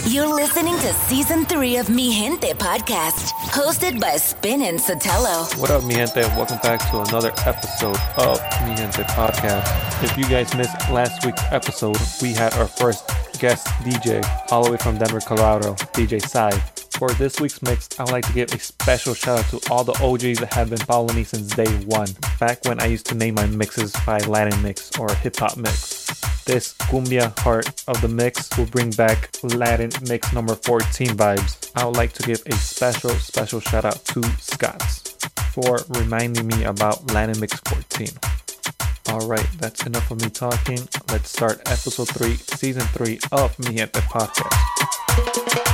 You're listening to Season 3 of Mi Gente Podcast, hosted by Spin and Sotelo. What up, Mi Gente? Welcome back to another episode of Mi Gente Podcast. If you guys missed last week's episode, we had our first guest DJ, all the way from Denver, Colorado, DJ Sai. For this week's mix, I would like to give a special shout out to all the OGs that have been following me since day one, back when I used to name my mixes by Latin mix or hip hop mix. This cumbia part of the mix will bring back Latin mix number 14 vibes. I would like to give a special shout out to Scots for reminding me about Latin mix 14. Alright, that's enough of me talking. Let's start episode 3, season 3 of Mi Gente Podcast.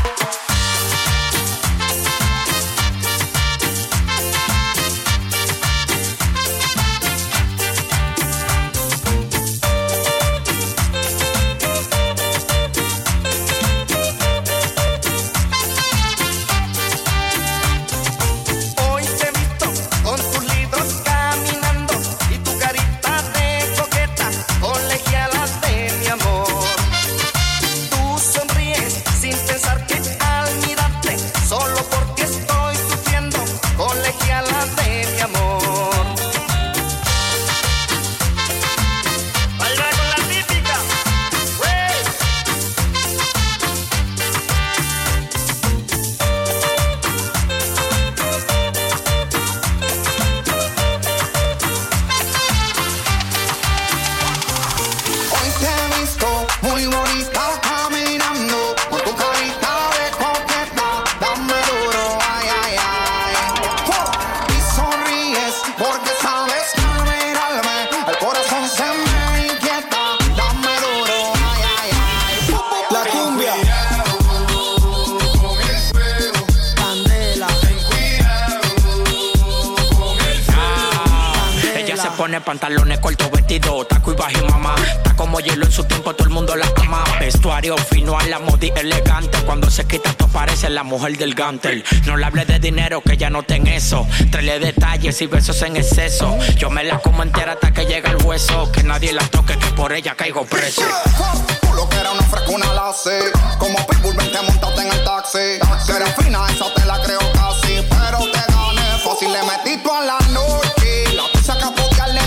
Pantalones cortos, vestido, taco y bajo y mamá. Está como hielo en su tiempo, todo el mundo la ama. Vestuario fino a la modi elegante. Cuando se quita esto parece la mujer del Gantel. No le hable de dinero que ya no ten eso. Tráele detalles y besos en exceso. Yo me la como entera hasta que llega el hueso. Que nadie la toque, que por ella caigo preso. Tú lo que era una frescuna la sé. Como Pitbull, vente, montate en el taxi. Que eres fina, esa te la creo casi. Pero te gané fácil, le metí tú a la noche. La pizza que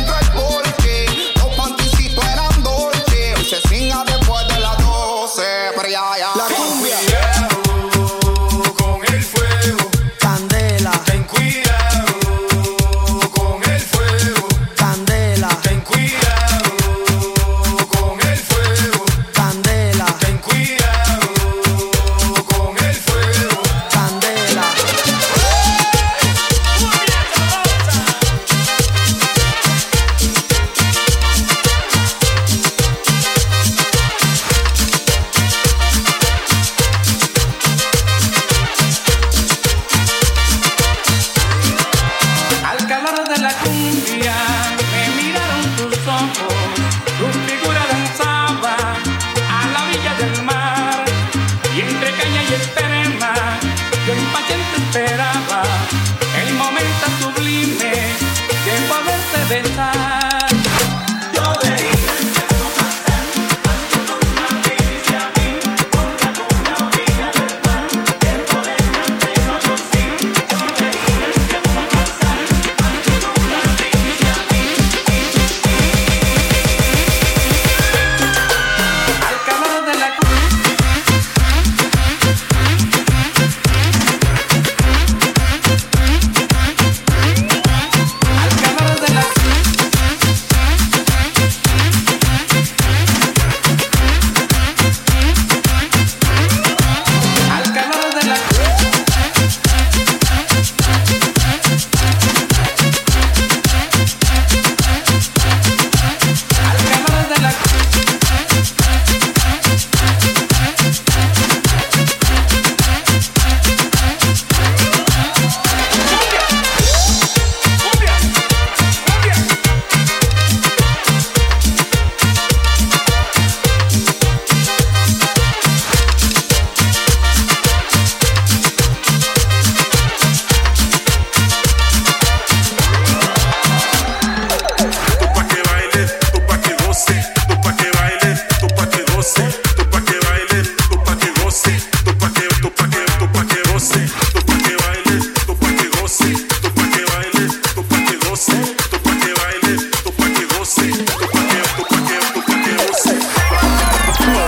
se singa después de las 12, pero ya. La cumbia. Con el fuego. Candela. Ten cuidado con el fuego. Candela. Ten cuidado con el fuego. Candela. Ten cuidado con el fuego. Candela.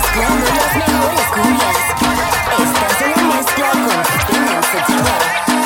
Mezclando las mejores cumbias. Estás en la mezcla con Spin and Satira.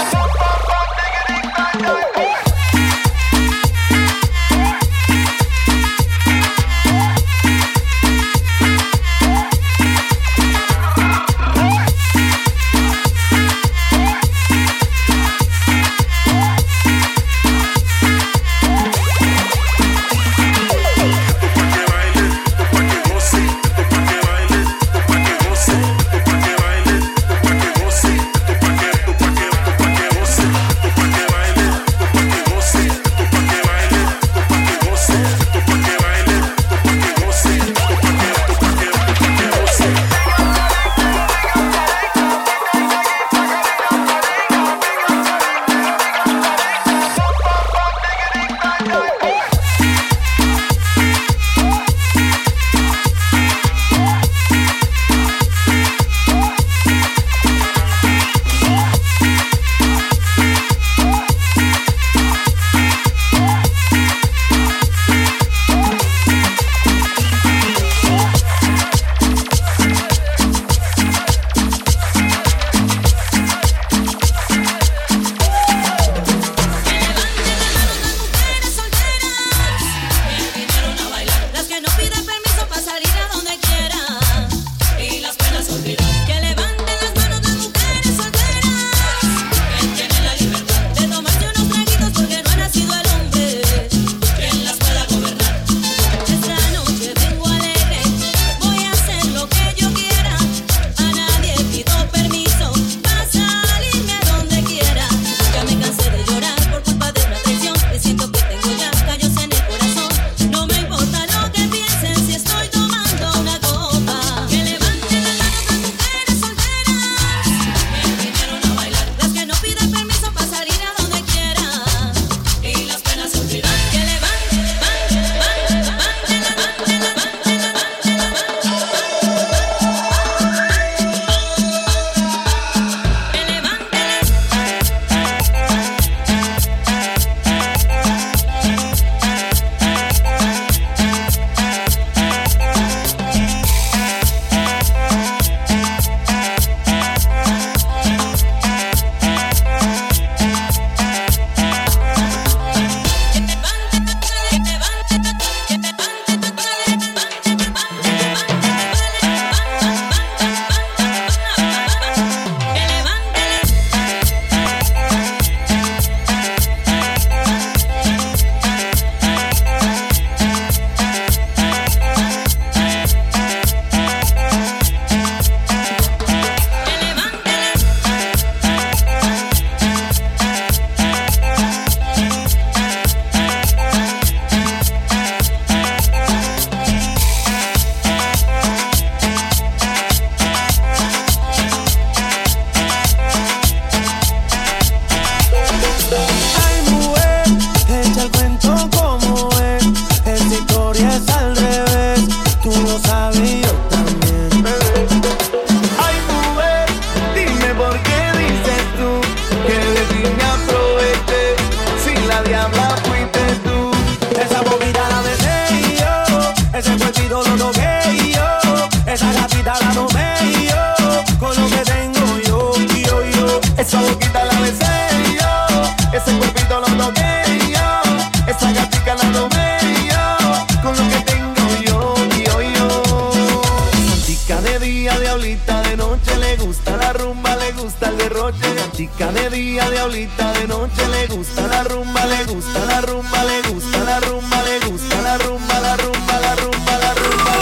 Chica de día, diablita de noche, le gusta la rumba, le gusta la rumba, le gusta la rumba, le gusta la rumba, la rumba, la rumba, la rumba,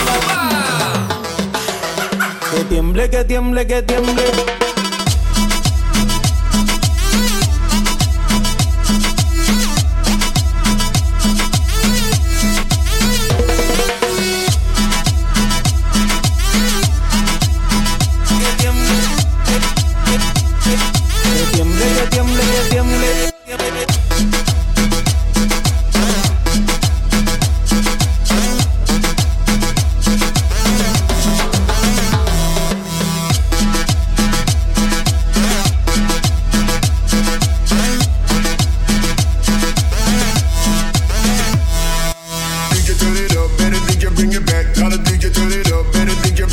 la rumba. Que tiemble, que tiemble, que tiemble.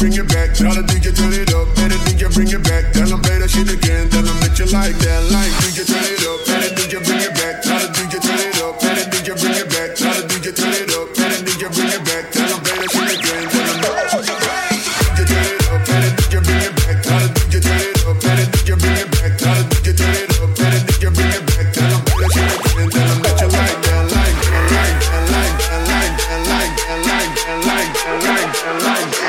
bring it back. Tell the DJ turn it up. Let the DJ bring it back. Tell them play that shit again. Tell them that you like that. Like DJ turn it up. Let the DJ bring it back. Tell the DJ turn it up. Let the DJ bring it back. Tell the DJ turn it up. Let the DJ bring it back. Tell them play that shit again. Tell them DJ turn it up. Let the DJ bring it back. Tell the DJ turn it up. Let the DJ bring it back. Tell the DJ turn it up. Let the DJ bring it back. Tell them play that shit again. Tell them that you like that. Like that. Like that. Like that. Like that. Like that. Like that. Like that. Like that. Like that.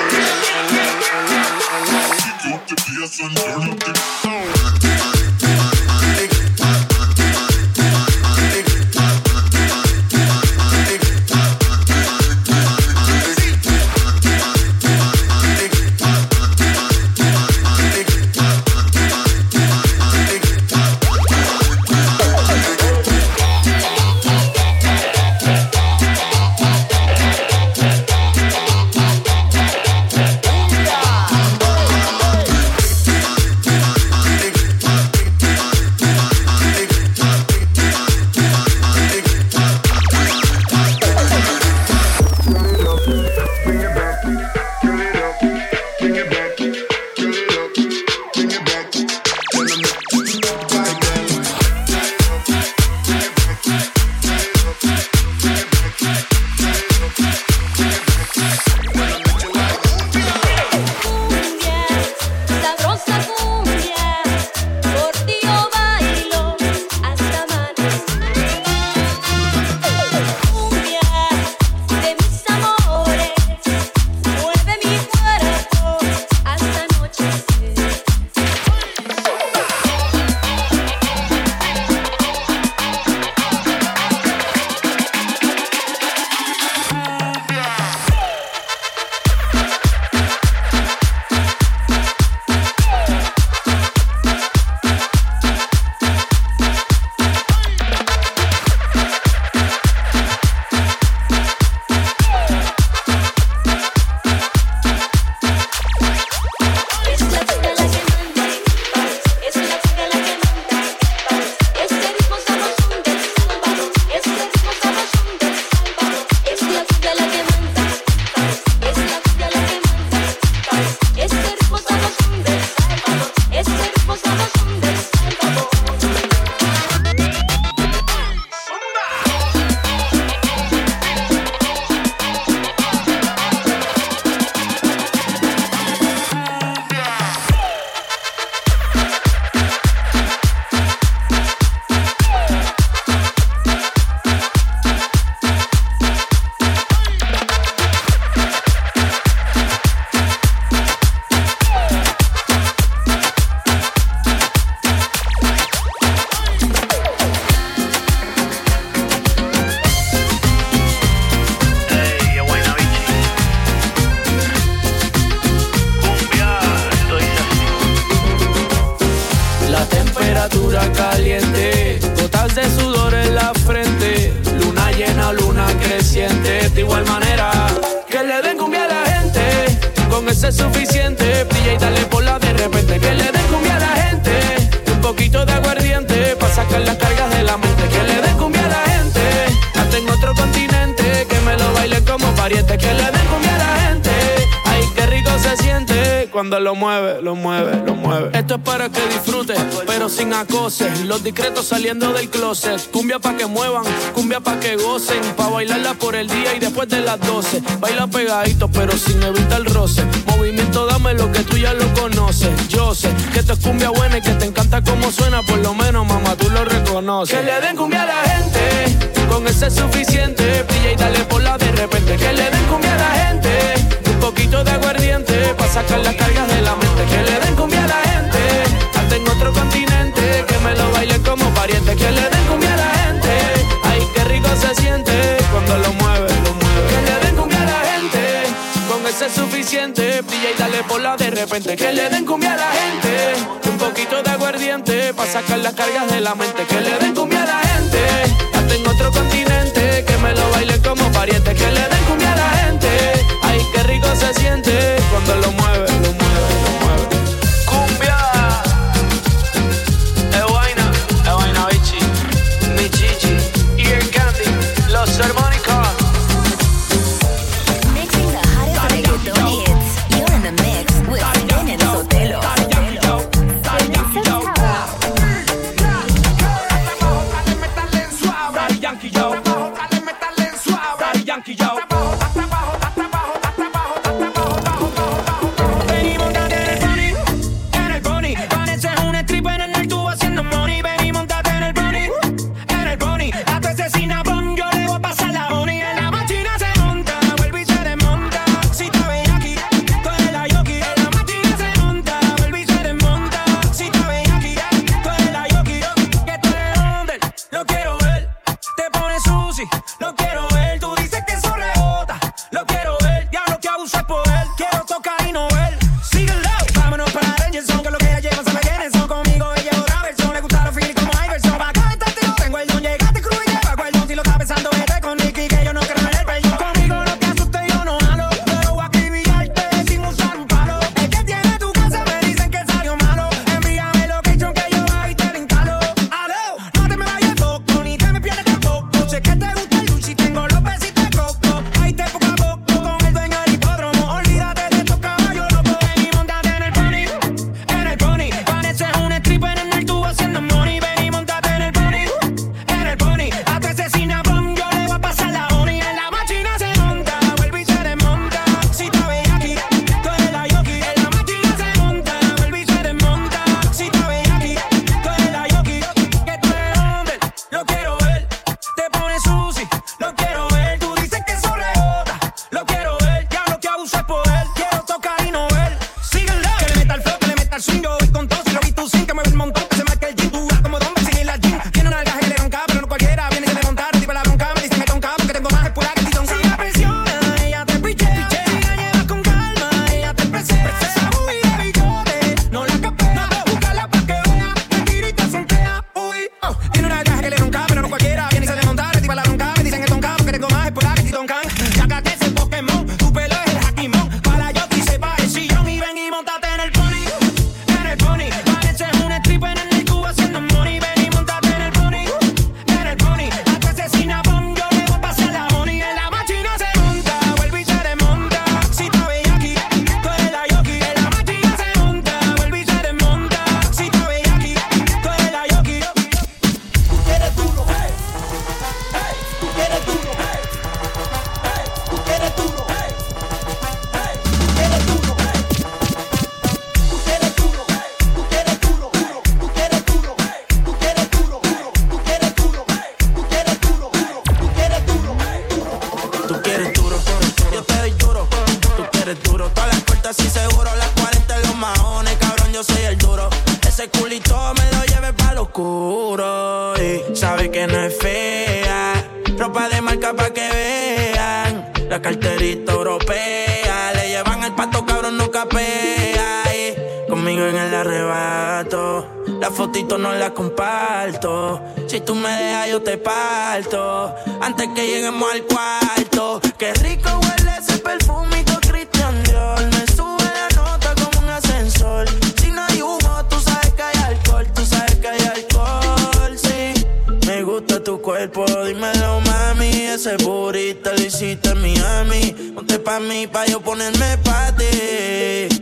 caliente, gotas de sudor en la frente, luna llena, luna creciente. De igual manera que le den cumbia a la gente, con eso es suficiente. Brilla y dale bola de repente. Que le den cumbia a la gente, un poquito de aguardiente pa' sacar las cargas de la mente. Que le den cumbia a la gente, hasta en otro continente, que me lo bailen como pariente. Que le den cumbia a la gente, ay qué rico se siente cuando lo mueve, lo mueve, lo mueve. Esto es para que disfrutes, pero sin acoses. Los discretos saliendo del closet. Cumbia pa' que muevan, cumbia pa' que gocen, pa' bailarla por el día y después de las 12. Baila pegadito, pero sin evitar el roce. Movimiento, dame lo que tú ya lo conoces. Yo sé que esto es cumbia buena y que te encanta cómo suena. Por lo menos, mamá, tú lo reconoces. Que le den cumbia a la gente, con eso es suficiente. Brilla y dale bola de repente. Que le den cumbia a la gente, un poquito de aguardiente pa' sacar las cargas de la mente. Que le den cumbia a la gente, hasta en otro continente, que me lo baile como pariente. Que le den cumbia a la gente, ay qué rico se siente cuando lo mueve, lo mueve. Que le den cumbia a la gente, con eso es suficiente. Brilla y dale bola de repente. Que le den cumbia a la gente, un poquito de aguardiente pa' sacar las cargas de la mente. Que le den cumbia a la gente, hasta en otro continente, que me lo baile como pariente. Que le den cumbia a la gente, ay qué rico se siente cuando lo mueve, lo mueve, lo mueve. Cumbia, Ewaina Bichi, mi chichi, y el Candy, los armónicos. Mixing the hottest reggaeton hits. You're in the mix seguro, las 40 en los maones, cabrón, yo soy el duro. Ese culito me lo lleve pa' lo oscuro. Y sabe que no es fea, ropa de marca pa' que vean. La carterita europea, le llevan el pato, cabrón, no capea. Y conmigo en el arrebato, la fotito no la comparto. Si tú me dejas yo te parto, antes que lleguemos al cuarto. Qué rico huele ese perfumito Christian Dior, me sube la nota como un ascensor. Si no hay humo, tú sabes que hay alcohol, tú sabes que hay alcohol, sí. Me gusta tu cuerpo, dímelo mami, ese burrito lo hiciste en Miami. Ponte pa' mí, pa' yo ponerme pa' ti.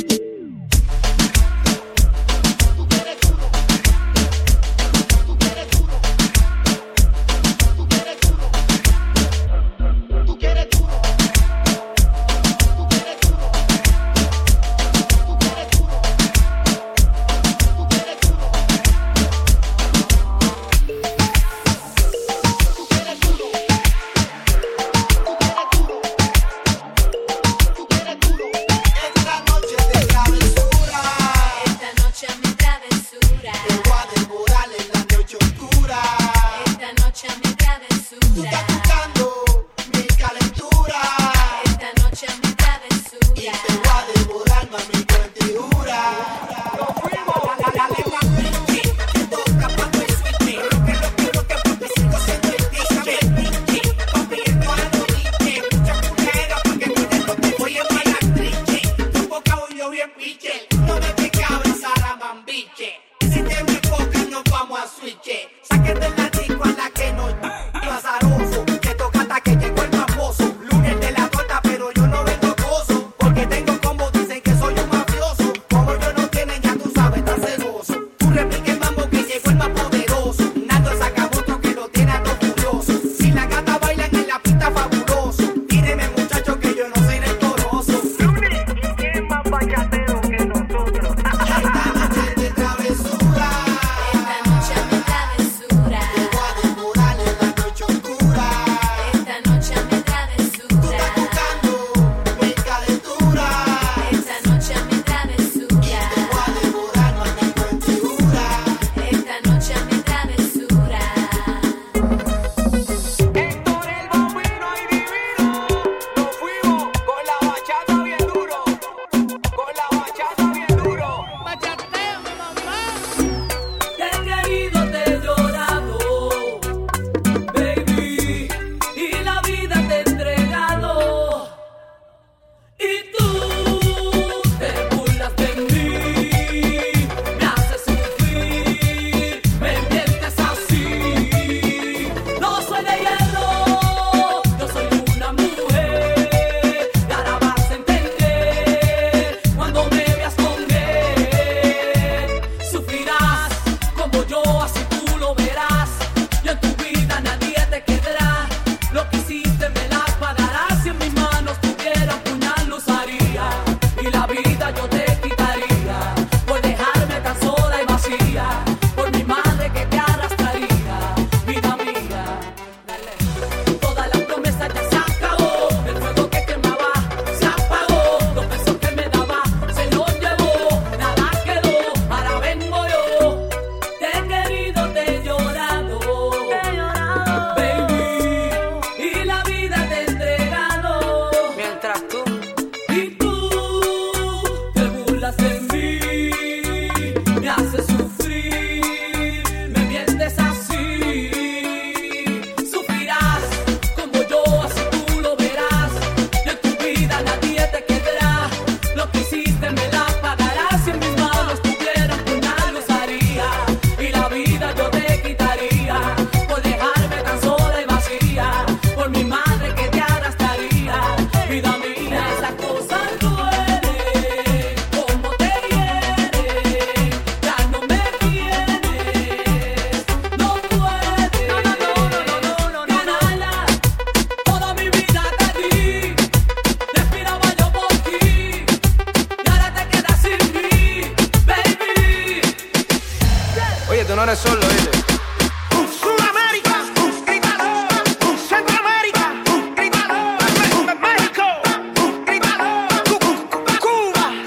no eres solo, ¿viste? Sudamérica, grítalo. Centroamérica, grítalo. México, grítalo. Cuba,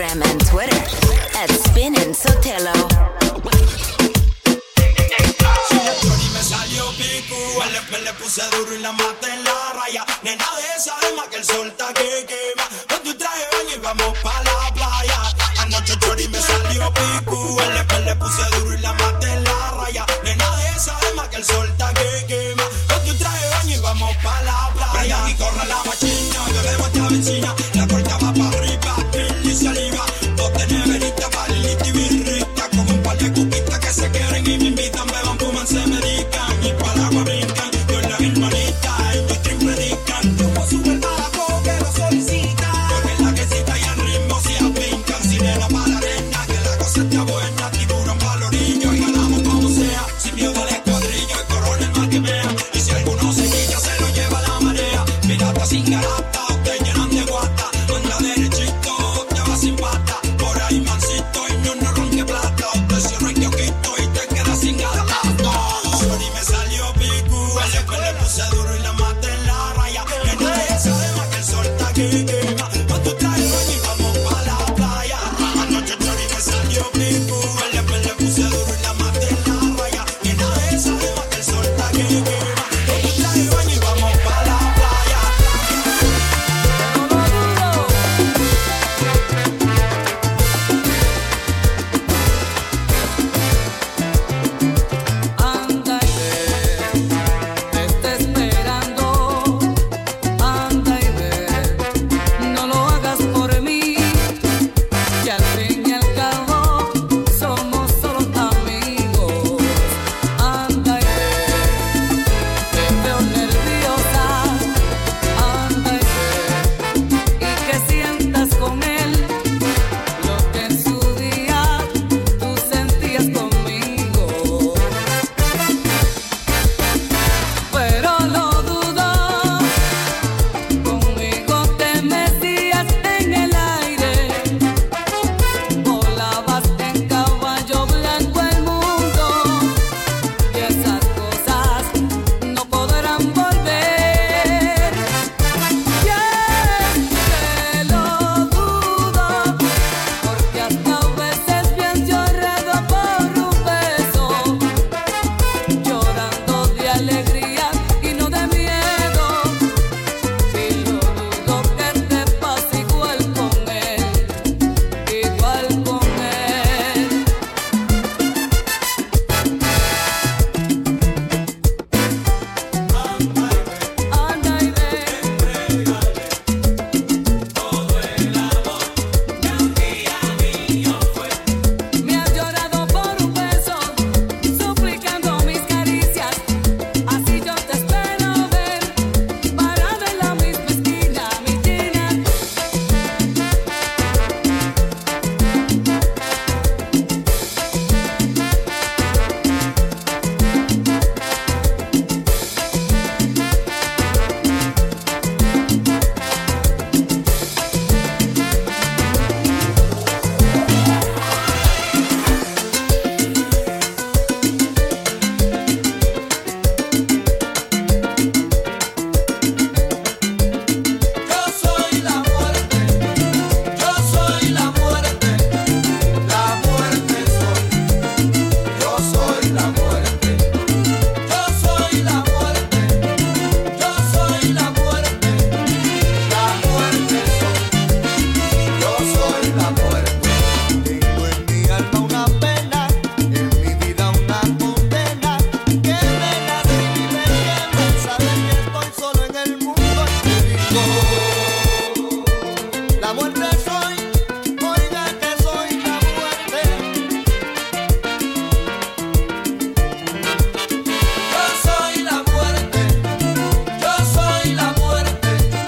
Instagram and Twitter at Spinnin' Sotelo. Me salió pico, le puse duro y la maté en la raya. Nena de esa alma que el sol está que quema. Con tu traje de baño y vamos pa' la playa. Anoche chori me salió pico, le puse duro y la maté en la raya. Nena de esa alma que el sol está que quema. Con tu traje de baño y vamos pa' la playa. Prenda y corre la machina, bebemos esta vecina. La corta va pa' arriba, piel y saliva. Bote neverita, palita y birrita. Como un par de cupitas que se quieren y me invitan. Beban, fuman, se medican y para agua brincan. Con las hermanitas, ellos stream predican. Como sube el abajo que lo solicitan. Con la quesita y el ritmo se apincan. Sirena para la arena, que la cosa está buena. Tiburón para el orillo y ganamos como sea. Sin miedo al escuadrillo, el coronel más que vea. Y si alguno se quilla, se lo lleva la marea. Pirata sin garata, te llenan de guata. Anda derechito, te va sin pata. Por ahí mansito y no ronque plata. Te cierro el kiosquito y te quedas sin gata. Sorry, me salió pico. Después le puse duro y la maté en la raya. Que nadie sabe más que el sol está que quema. Con tu traje y vamos pa' la playa. Anoche Chori me salió pico. Después le puse duro y la maté en la raya. Que nadie sabe más que el sol está que quema. Con tu traje y vamos pa' la playa. Anda y ve, te está esperando. Anda y ve, no lo hagas por mí, que al fin y al cabo somos solo amigos. Anda y ve, te veo nerviosa. Anda y ve, y que sientas con él lo que en su día tú sentías conmigo. Pero lo dudo, conmigo te metías en el aire, volabas en caballo blanco el mundo, y esas cosas no podrán volver. Y es que lo dudo, porque hasta a veces pienso enredo por un beso, llorando de alegría y no de miedo. Y lo dudo que te pase igual con él, igual con él. Anda y ve, me has llorado por un beso, suplicando mis caricias. Así yo te espero ver, parada en la misma esquina, mi Gina. Yo soy la muerte, yo soy la muerte soy. Yo soy la muerte, yo soy la muerte, yo soy la muerte soy. Yo soy la muerte. Tengo en mi alma una pena, en mi vida una condena, que me nace y me quema saber que estoy solo en el mundo. Y te digo, la muerte soy, oiga que soy la muerte. Yo soy la muerte, yo soy la muerte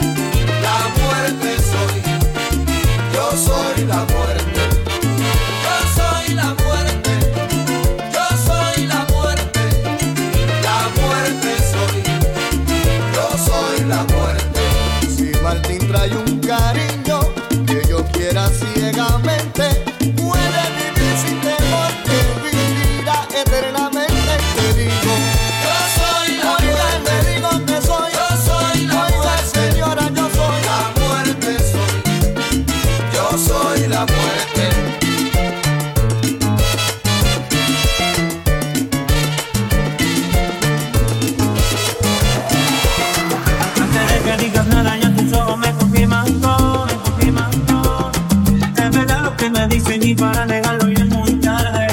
soy. Yo soy la muerte, yo soy la muerte, yo soy la muerte soy. Yo soy la muerte. Si Martín trae un cariño que yo quiera ciegamente, puede vivir sin temor, que vivirá eternamente. Y te digo, yo soy la muerte. Te digo que soy, yo soy la muerte. Señora, yo soy la muerte soy. Yo soy la muerte. te dicen y para negarlo ya es muy tarde.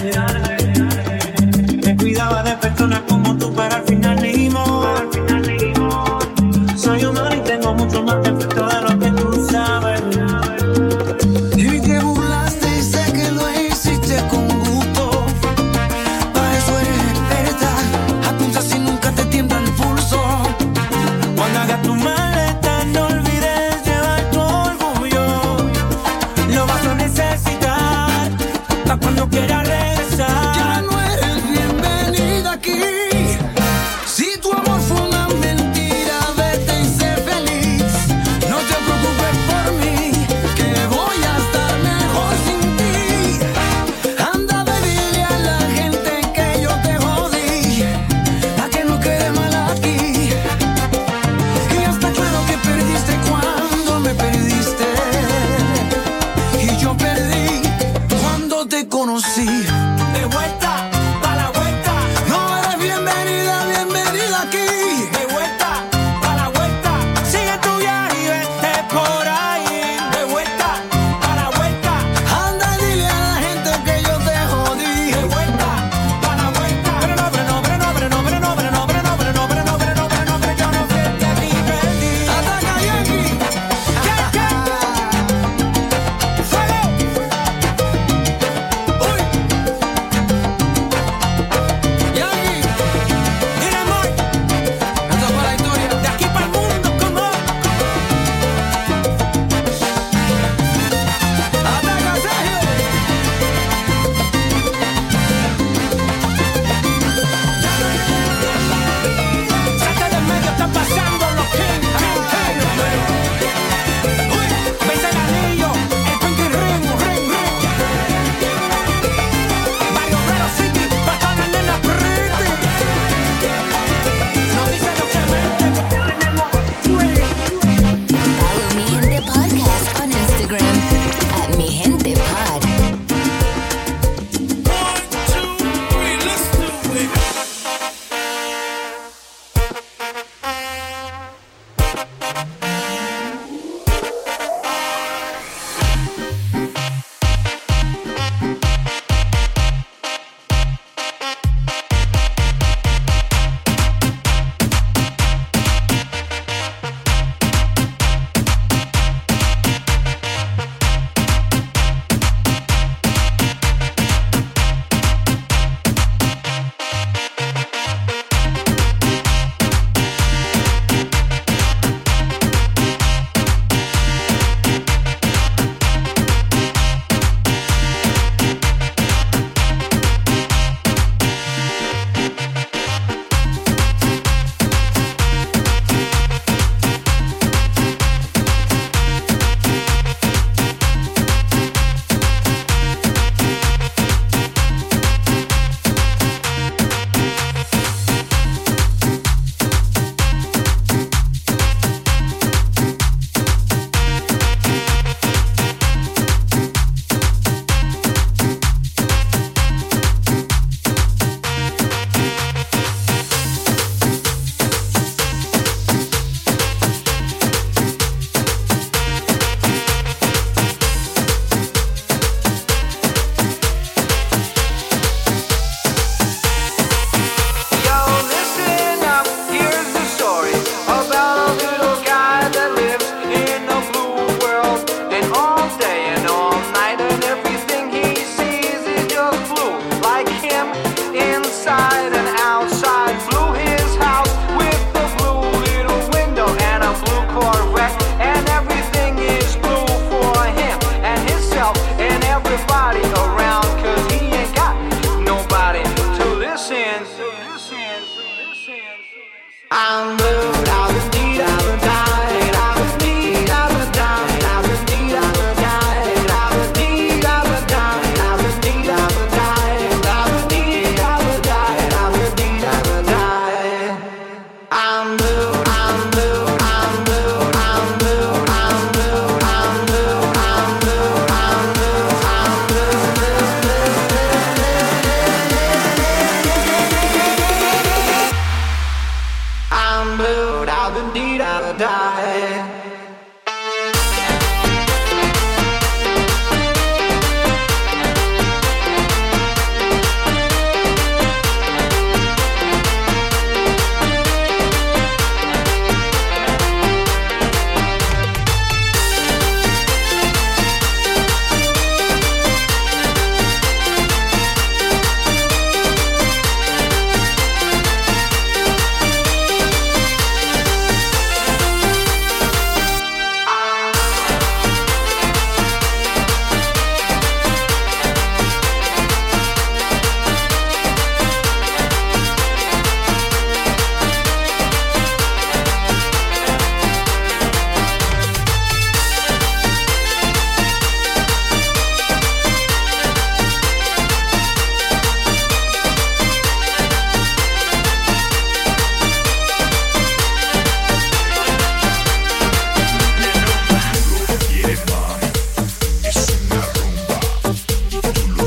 Te cuidaba de personas como tú, pero al final ni modo. Soy humano y tengo mucho más defecto de lo que tú sabes. Y te burlaste y sé que lo hiciste con gusto. Para eso eres experta. Apunta si nunca te tiembla el pulso. Cuando hagas tu maleta no olvides llevar tu orgullo. Lo vas a necesitar pa' cuando quieras regresar. Ya no eres bienvenida aquí. Si tu amor fue una mentira, vete y sé feliz. No te preocupes por mí, que voy a estar mejor sin ti. Anda, ve, dile a la gente que yo te jodí, pa' que no quede mal aquí. Y ya está claro que perdiste cuando me perdiste. Y yo perdí cuando te conocí. De vuelta, pa' la vuelta. No eres bienvenida, bienvenida aquí. De vuelta, pa' la vuelta. Sigue tu viaje y vete por ahí. De vuelta, pa' la vuelta. Anda y dile a la gente que yo te jodí. De vuelta, pa' la vuelta. Pero no, yo no fui el que a ti perdí. Ataca Yankee. Fuego. Uy.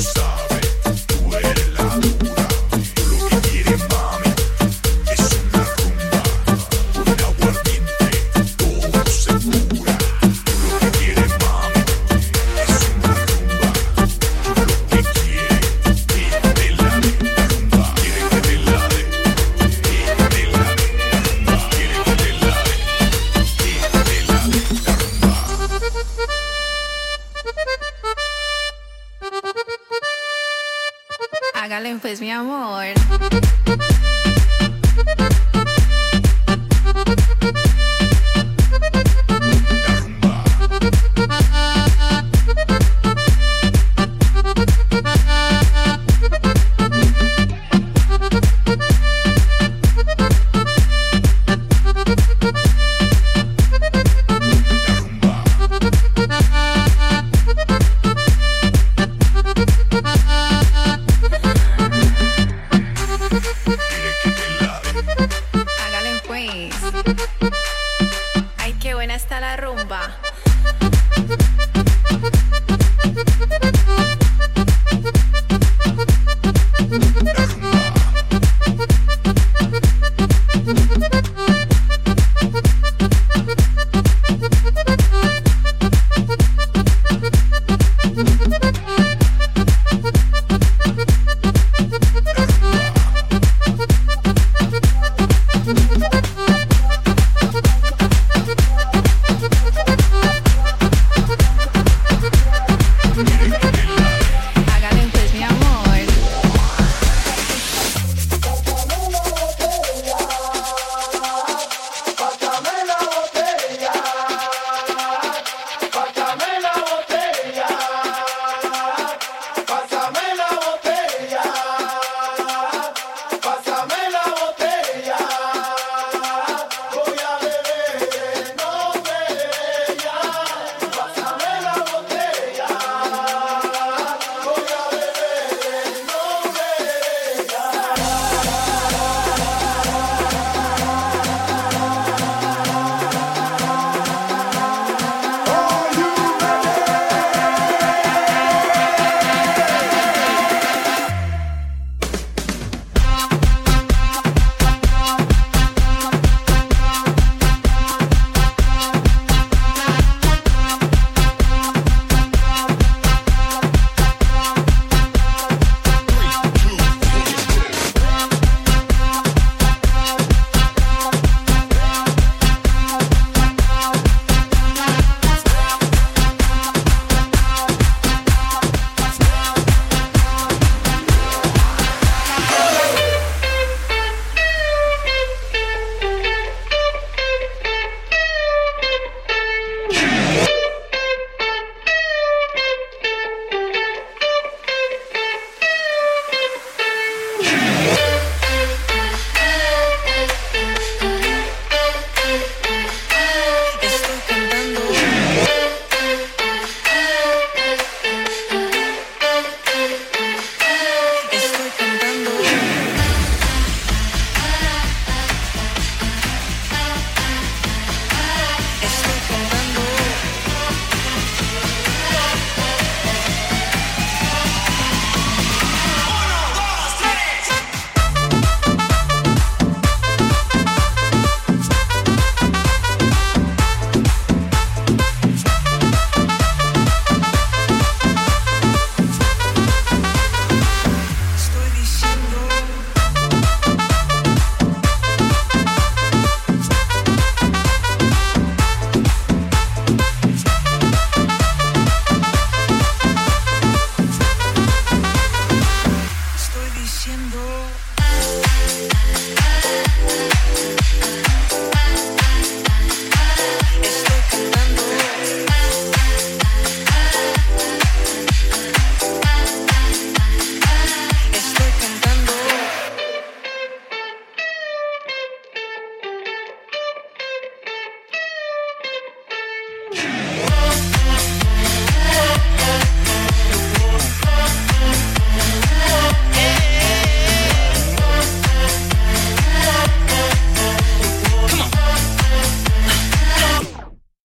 Hágale pues, mi amor.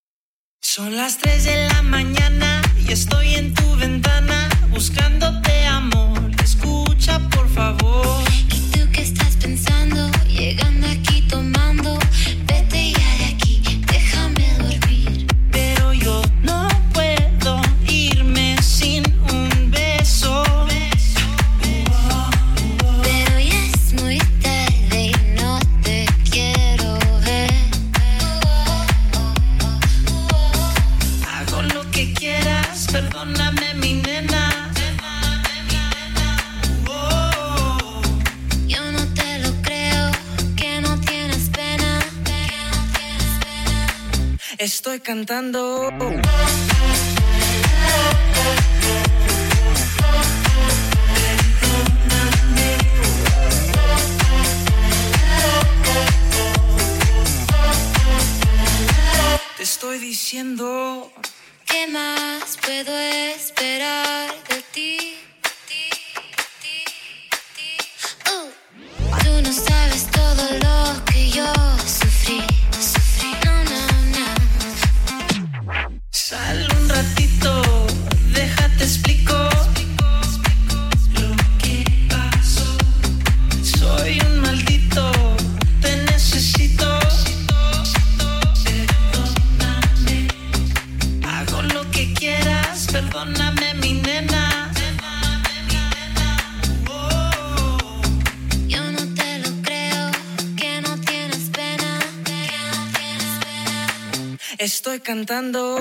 Son las 3 de la mañana y estoy en tu ventana buscándote a Estoy cantando. Te estoy diciendo. ¿Qué más puedo esperar de ti? Tú no sabes todo lo que yo sufrí. No. Sal un ratito, déjate explico lo que pasó. Soy un maldito, te necesito. Perdóname, hago lo que quieras. Perdóname, mi nena. Estoy cantando.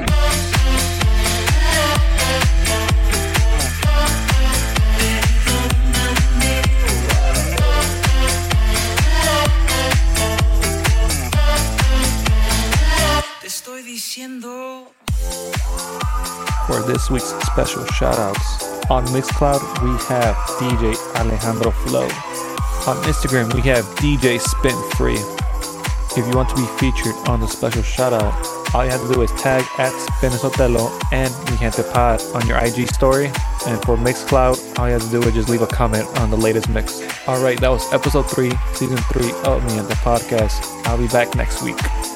Te estoy diciendo. For this week's special shoutouts, on Mixcloud we have DJ Alejandro Flow. On Instagram we have DJ Spin Free. If you want to be featured on the special shoutout, all you have to do is tag @SpinSotelo and Mi Gente Pod on your IG story. And for Mixcloud, all you have to do is just leave a comment on the latest mix. Alright, that was episode 3, season 3 of Mi Gente Podcast. I'll be back next week.